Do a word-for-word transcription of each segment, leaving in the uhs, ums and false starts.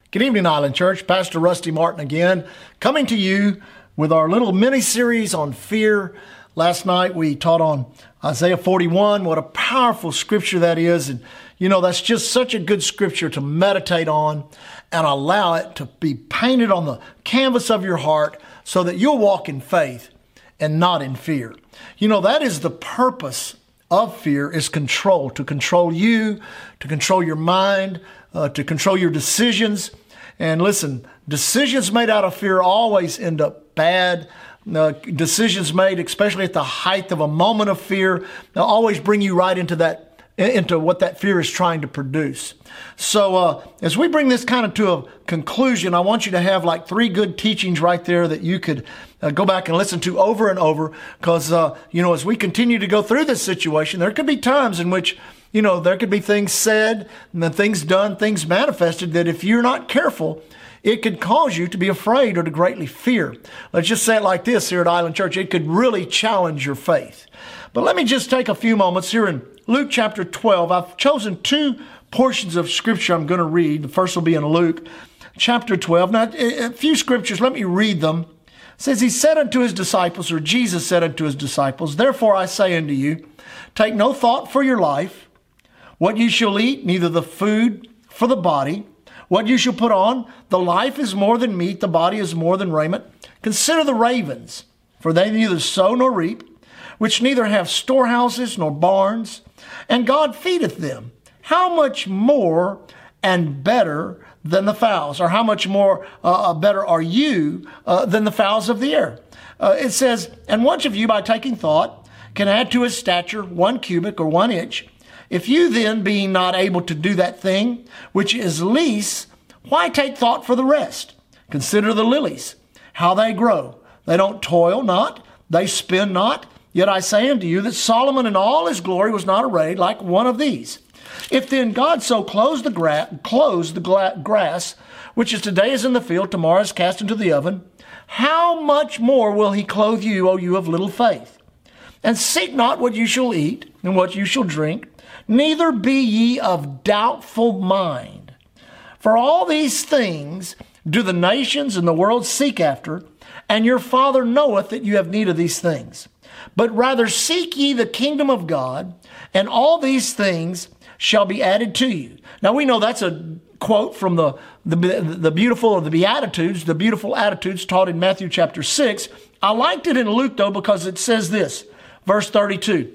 Good evening, Island Church. Pastor Rusty Martin again, coming to you with our little mini-series on fear. Last night we taught on Isaiah forty-one. What a powerful scripture that is. And, you know, that's just such a good scripture to meditate on and allow it to be painted on the canvas of your heart so that you'll walk in faith and not in fear. You know, that is the purpose of fear, is control, to control you, to control your mind, uh, to control your decisions. And listen, decisions made out of fear always end up bad. Uh, decisions made, especially at the height of a moment of fear, they'll always bring you right into that, into what that fear is trying to produce. So uh, as we bring this kind of to a conclusion, I want you to have like three good teachings right there that you could uh, go back and listen to over and over. Because, uh, you know, as we continue to go through this situation, there could be times in which, you know, there could be things said and then things done, things manifested that if you're not careful, it could cause you to be afraid or to greatly fear. Let's just say it like this here at Island Church. It could really challenge your faith. But let me just take a few moments here in Luke chapter twelve. I've chosen two portions of scripture I'm going to read. The first will be in Luke chapter twelve. Now, a few scriptures, let me read them. It says, he said unto his disciples, or Jesus said unto his disciples, therefore I say unto you, take no thought for your life, what you shall eat, neither the food for the body, what you shall put on. The life is more than meat, the body is more than raiment. Consider the ravens, for they neither sow nor reap, which neither have storehouses nor barns, and God feedeth them. How much more and better than the fowls, or how much more uh, better are you uh, than the fowls of the air? Uh, it says, and which of you by taking thought can add to his stature one cubit or one inch? If you then, being not able to do that thing which is least, why take thought for the rest? Consider the lilies, how they grow. They don't toil not, they spin not. Yet I say unto you that Solomon in all his glory was not arrayed like one of these. If then God so clothes the, gra- clothes the gra- grass, which is today is in the field, tomorrow is cast into the oven, how much more will he clothe you, O you of little faith? And seek not what you shall eat and what you shall drink, neither be ye of doubtful mind. For all these things do the nations and the world seek after, and your Father knoweth that you have need of these things. But rather seek ye the kingdom of God, and all these things shall be added to you. Now we know that's a quote from the, the, the beautiful of the Beatitudes, the beautiful attitudes taught in Matthew chapter six. I liked it in Luke though, because it says this, verse thirty-two.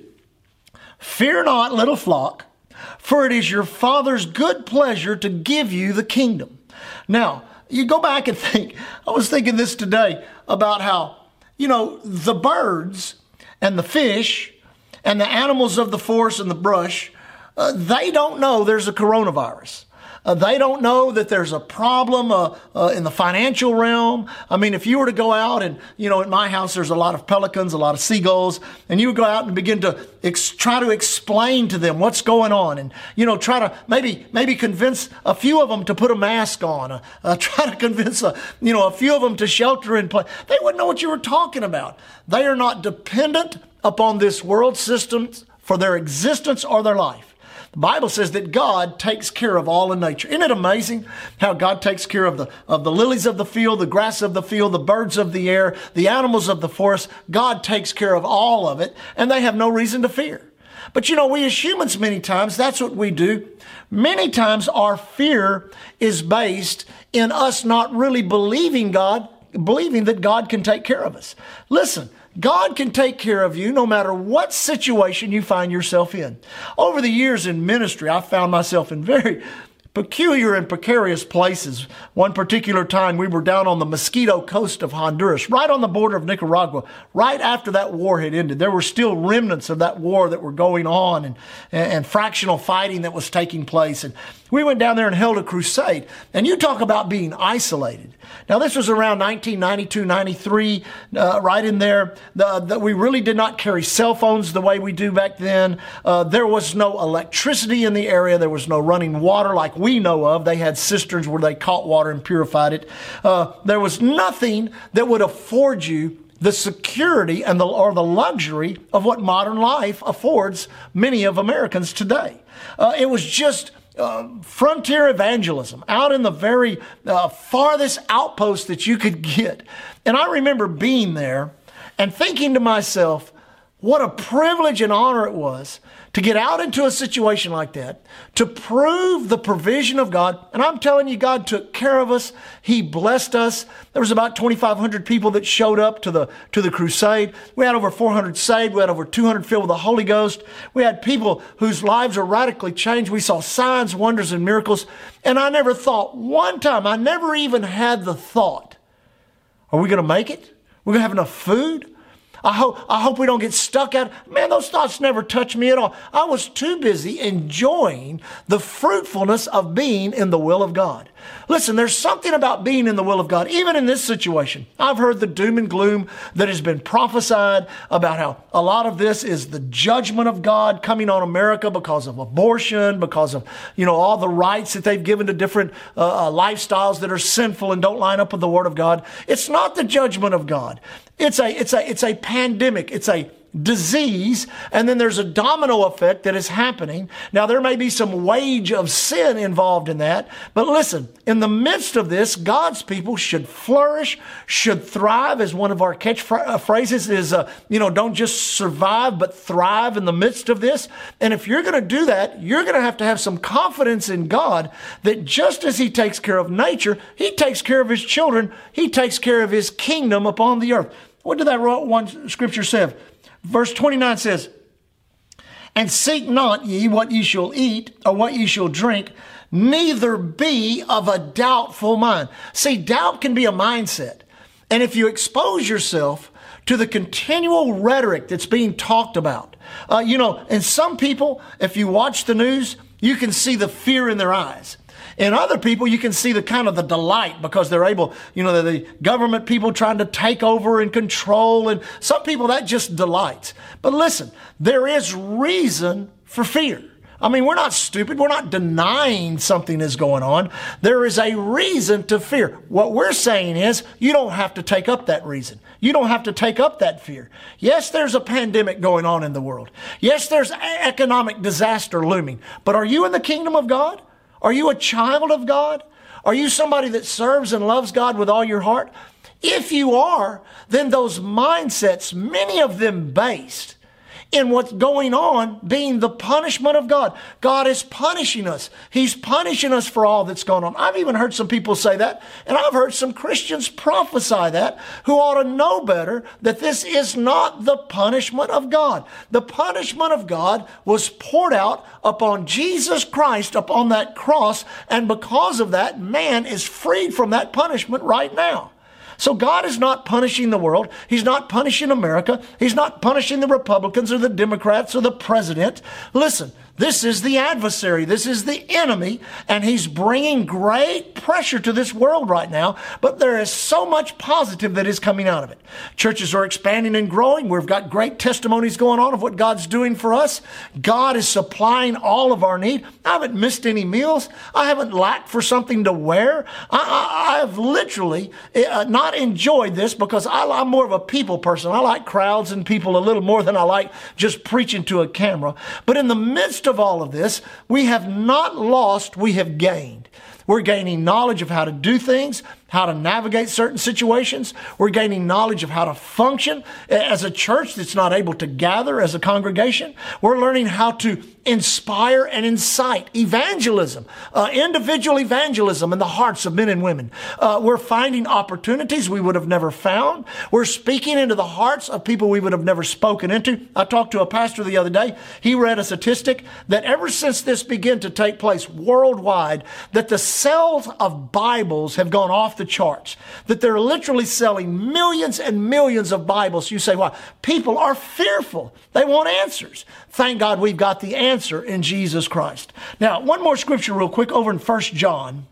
Fear not, little flock, for it is your Father's good pleasure to give you the kingdom. Now, you go back and think, I was thinking this today about how, you know, the birds and the fish and the animals of the forest and the brush, uh, they don't know there's a coronavirus. Uh, they don't know that there's a problem uh, uh, in the financial realm. I mean, if you were to go out and, you know, at my house, there's a lot of pelicans, a lot of seagulls, and you would go out and begin to ex- try to explain to them what's going on and, you know, try to maybe maybe convince a few of them to put a mask on, uh, uh, try to convince, a, you know, a few of them to shelter in place. They wouldn't know what you were talking about. They are not dependent upon this world system for their existence or their life. The Bible says that God takes care of all in nature. Isn't it amazing how God takes care of the, of the lilies of the field, the grass of the field, the birds of the air, the animals of the forest? God takes care of all of it, and they have no reason to fear. But you know, we as humans, many times, that's what we do. Many times our fear is based in us not really believing God, believing that God can take care of us. Listen, God can take care of you no matter what situation you find yourself in. Over the years in ministry, I found myself in very peculiar and precarious places. One particular time we were down on the Mosquito Coast of Honduras, right on the border of Nicaragua, right after that war had ended. There were still remnants of that war that were going on and, and, and fractional fighting that was taking place. And we went down there and held a crusade. And you talk about being isolated. Now, this was around nineteen ninety-two, ninety-three, uh, right in there. The, the, we really did not carry cell phones the way we do back then. Uh, there was no electricity in the area. There was no running water like we know of. They had cisterns where they caught water and purified it. Uh, there was nothing that would afford you the security and the, or the luxury of what modern life affords many of Americans today. Uh, it was just uh, frontier evangelism out in the very uh, farthest outpost that you could get. And I remember being there and thinking to myself, what a privilege and honor it was to get out into a situation like that, to prove the provision of God. And I'm telling you, God took care of us. He blessed us. There was about twenty-five hundred people that showed up to the, to the crusade. We had over four hundred saved. We had over two hundred filled with the Holy Ghost. We had people whose lives were radically changed. We saw signs, wonders, and miracles. And I never thought one time, I never even had the thought, are we going to make it? We're going to have enough food? I hope, I hope we don't get stuck out. Man, those thoughts never touched me at all. I was too busy enjoying the fruitfulness of being in the will of God. Listen, there's something about being in the will of God, even in this situation. I've heard the doom and gloom that has been prophesied about how a lot of this is the judgment of God coming on America because of abortion, because of, you know, all the rights that they've given to different uh, uh, lifestyles that are sinful and don't line up with the Word of God. It's not the judgment of God. It's a, it's a, it's a pandemic. It's a disease, and then there's a domino effect that is happening. Now, there may be some wage of sin involved in that, but listen, in the midst of this, God's people should flourish, should thrive, as one of our catchphrases is, uh, you know, don't just survive, but thrive in the midst of this. And if you're going to do that, you're going to have to have some confidence in God that just as He takes care of nature, He takes care of His children, He takes care of His kingdom upon the earth. What did that one scripture say? Verse twenty-nine says, and seek not ye what ye shall eat or what ye shall drink, neither be of a doubtful mind. See, doubt can be a mindset. And if you expose yourself to the continual rhetoric that's being talked about, uh, you know, and some people, if you watch the news, you can see the fear in their eyes. In other people, you can see the kind of the delight because they're able, you know, the government people trying to take over and control. And some people, that just delights. But listen, there is reason for fear. I mean, we're not stupid. We're not denying something is going on. There is a reason to fear. What we're saying is you don't have to take up that reason. You don't have to take up that fear. Yes, there's a pandemic going on in the world. Yes, there's economic disaster looming. But are you in the kingdom of God? Are you a child of God? Are you somebody that serves and loves God with all your heart? If you are, then those mindsets, many of them based in what's going on being the punishment of God. God is punishing us. He's punishing us for all that's going on. I've even heard some people say that, and I've heard some Christians prophesy that who ought to know better that this is not the punishment of God. The punishment of God was poured out upon Jesus Christ upon that cross, and because of that, man is freed from that punishment right now. So God is not punishing the world. He's not punishing America. He's not punishing the Republicans or the Democrats or the president. Listen, this is the adversary. This is the enemy, and he's bringing great pressure to this world right now, but there is so much positive that is coming out of it. Churches are expanding and growing. We've got great testimonies going on of what God's doing for us. God is supplying all of our need. I haven't missed any meals. I haven't lacked for something to wear. I, I, I have literally uh, not enjoyed this because I, I'm more of a people person. I like crowds and people a little more than I like just preaching to a camera. But in the midst of all of this, we have not lost, we have gained. We're gaining knowledge of how to do things, how to navigate certain situations. We're gaining knowledge of how to function as a church that's not able to gather as a congregation. We're learning how to inspire and incite evangelism, uh, individual evangelism in the hearts of men and women. Uh, we're finding opportunities we would have never found. We're speaking into the hearts of people we would have never spoken into. I talked to a pastor the other day. He read a statistic that ever since this began to take place worldwide, that the sales of Bibles have gone off the charts, that they're literally selling millions and millions of Bibles. You say, why? People are fearful. They want answers. Thank God we've got the answer in Jesus Christ. Now, one more scripture real quick over in First John.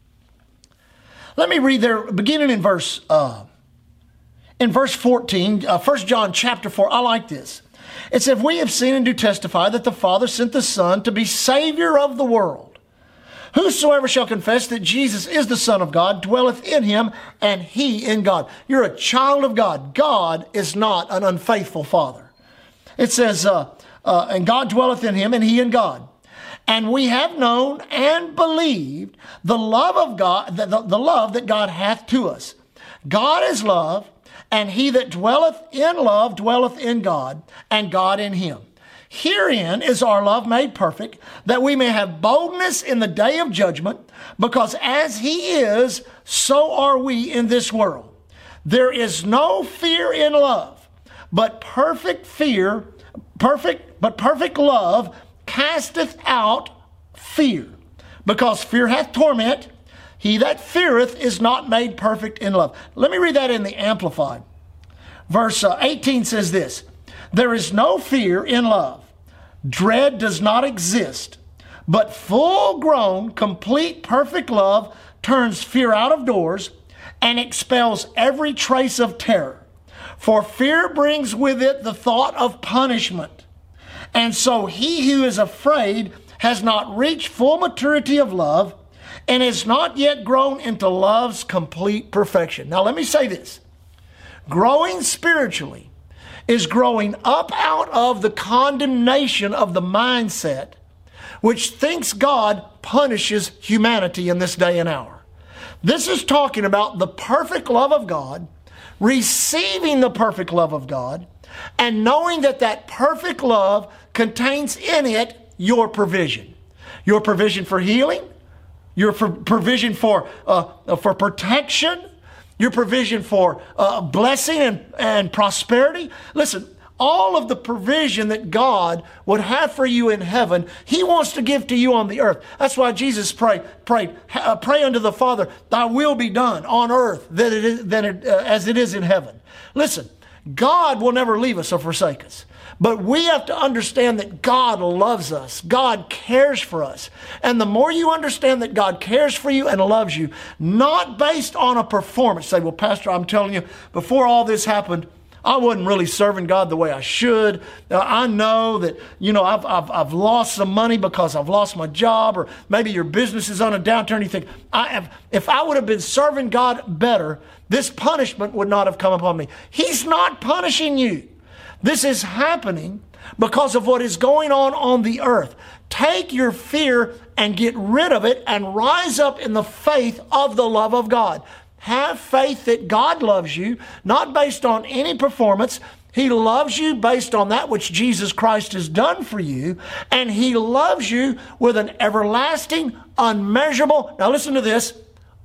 Let me read there, beginning in verse, uh, in verse fourteen, uh, First John chapter four. I like this. It says, we have seen and do testify that the Father sent the Son to be Savior of the world. Whosoever shall confess that Jesus is the Son of God dwelleth in him, and he in God. You're a child of God. God is not an unfaithful Father. It says, uh, uh, and God dwelleth in him, and he in God. And we have known and believed the love of God, the, the, the love that God hath to us. God is love, and he that dwelleth in love dwelleth in God, and God in him. Herein is our love made perfect, that we may have boldness in the day of judgment, because as he is, so are we in this world. There is no fear in love, but perfect fear, perfect, but perfect love casteth out fear, because fear hath torment. He that feareth is not made perfect in love. Let me read that in the Amplified. Verse uh, eighteen says this, there is no fear in love. Dread does not exist, but full-grown, complete, perfect love turns fear out of doors and expels every trace of terror. For fear brings with it the thought of punishment. And so he who is afraid has not reached full maturity of love and is not yet grown into love's complete perfection. Now let me say this. Growing spiritually is growing up out of the condemnation of the mindset which thinks God punishes humanity in this day and hour. This is talking about the perfect love of God, receiving the perfect love of God, and knowing that that perfect love contains in it your provision. Your provision for healing, your for provision for, uh, for protection, your provision for uh, blessing and, and prosperity. Listen, all of the provision that God would have for you in heaven, he wants to give to you on the earth. That's why Jesus prayed, prayed uh, pray unto the Father, thy will be done on earth than it is, than it, uh, as it is in heaven. Listen, God will never leave us or forsake us. But we have to understand that God loves us. God cares for us. And the more you understand that God cares for you and loves you, not based on a performance. Say, well, Pastor, I'm telling you, before all this happened, I wasn't really serving God the way I should. Uh, I know that, you know, I've, I've, I've lost some money because I've lost my job, or maybe your business is on a downturn. You think, I have, if I would have been serving God better, this punishment would not have come upon me. He's not punishing you. This is happening because of what is going on on the earth. Take your fear and get rid of it and rise up in the faith of the love of God. Have faith that God loves you, not based on any performance. He loves you based on that which Jesus Christ has done for you. And he loves you with an everlasting, unmeasurable, now listen to this,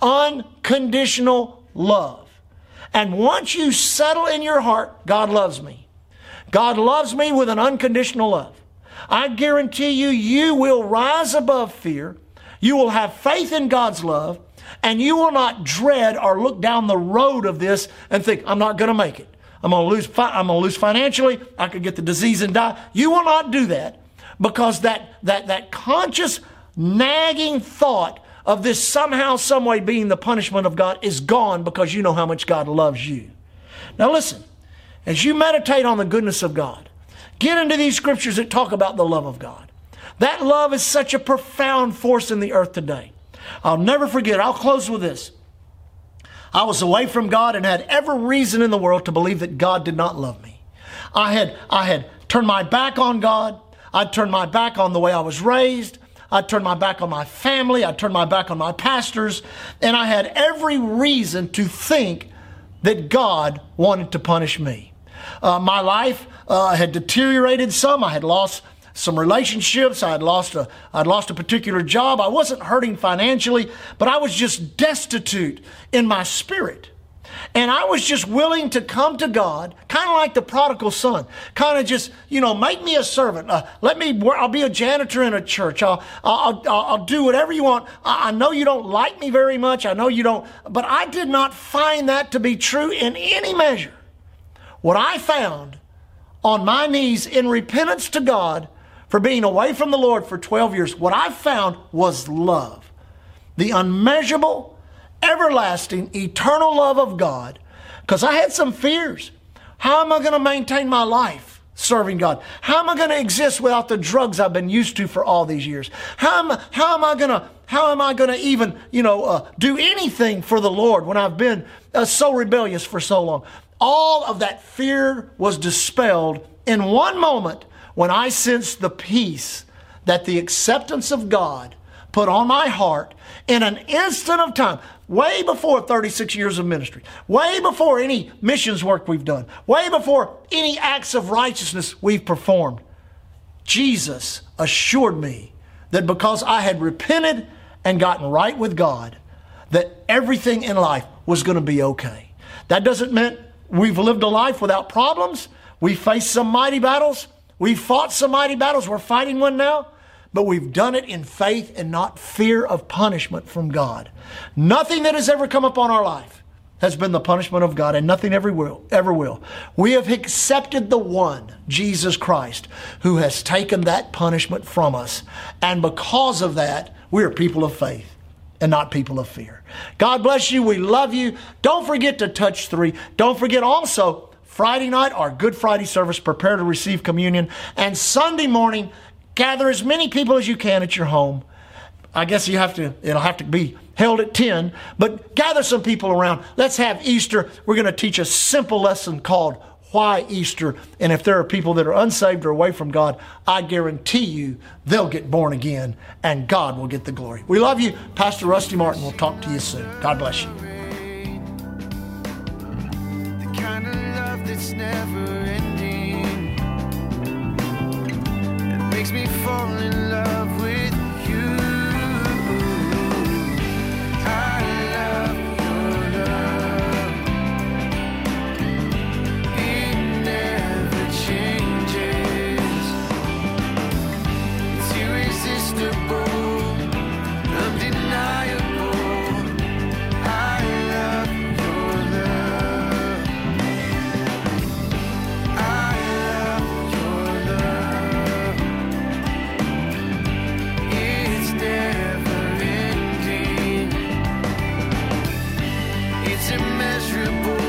unconditional love. And once you settle in your heart, God loves me. God loves me with an unconditional love. I guarantee you, you will rise above fear. You will have faith in God's love, and you will not dread or look down the road of this and think, I'm not going to make it. I'm going to lose, fi- I'm going to lose financially. I could get the disease and die. You will not do that, because that, that, that conscious nagging thought of this somehow, some way being the punishment of God is gone, because you know how much God loves you. Now listen. As you meditate on the goodness of God, get into these scriptures that talk about the love of God. That love is such a profound force in the earth today. I'll never forget. I'll close with this. I was away from God and had every reason in the world to believe that God did not love me. I had, I had turned my back on God. I'd turned my back on the way I was raised. I'd turned my back on my family. I'd turned my back on my pastors. And I had every reason to think that God wanted to punish me. Uh, my life uh, had deteriorated some. I had lost some relationships. I had lost a, I'd lost a particular job. I wasn't hurting financially, but I was just destitute in my spirit. And I was just willing to come to God, kind of like the prodigal son, kind of just, you know, make me a servant. Uh, let me, work. I'll be a janitor in a church. I'll, I'll, I'll, I'll do whatever you want. I, I know you don't like me very much. I know you don't, but I did not find that to be true in any measure. What I found on my knees in repentance to God for being away from the Lord for twelve years, what I found was love. The unmeasurable, everlasting, eternal love of God. Because I had some fears. How am I going to maintain my life serving God? How am I going to exist without the drugs I've been used to for all these years? How am I, how am I going to how am I going to even, you know, uh, do anything for the Lord when I've been uh, so rebellious for so long? All of that fear was dispelled in one moment when I sensed the peace that the acceptance of God put on my heart in an instant of time, way before thirty-six years of ministry, way before any missions work we've done, way before any acts of righteousness we've performed. Jesus assured me that because I had repented and gotten right with God, that everything in life was going to be okay. That doesn't mean we've lived a life without problems. We faced some mighty battles. We fought some mighty battles. We're fighting one now. But we've done it in faith and not fear of punishment from God. Nothing that has ever come upon our life has been the punishment of God, and nothing ever will. Ever will. We have accepted the one, Jesus Christ, who has taken that punishment from us. And because of that, we are people of faith and not people of fear. God bless you. We love you. Don't forget to touch three. Don't forget also, Friday night, our Good Friday service, prepare to receive communion. And Sunday morning, gather as many people as you can at your home. I guess you have to, it'll have to be held at ten, but gather some people around. Let's have Easter. We're going to teach a simple lesson called Why Easter? And if there are people that are unsaved or away from God, I guarantee you they'll get born again and God will get the glory. We love you. Pastor Rusty Martin will talk to you soon. God bless you. The kind of love that's never ending. It makes me fall in love with you. I love your love. It never changes. It's irresistible, undeniable. I love your love. I love your love. It's never ending. It's immeasurable.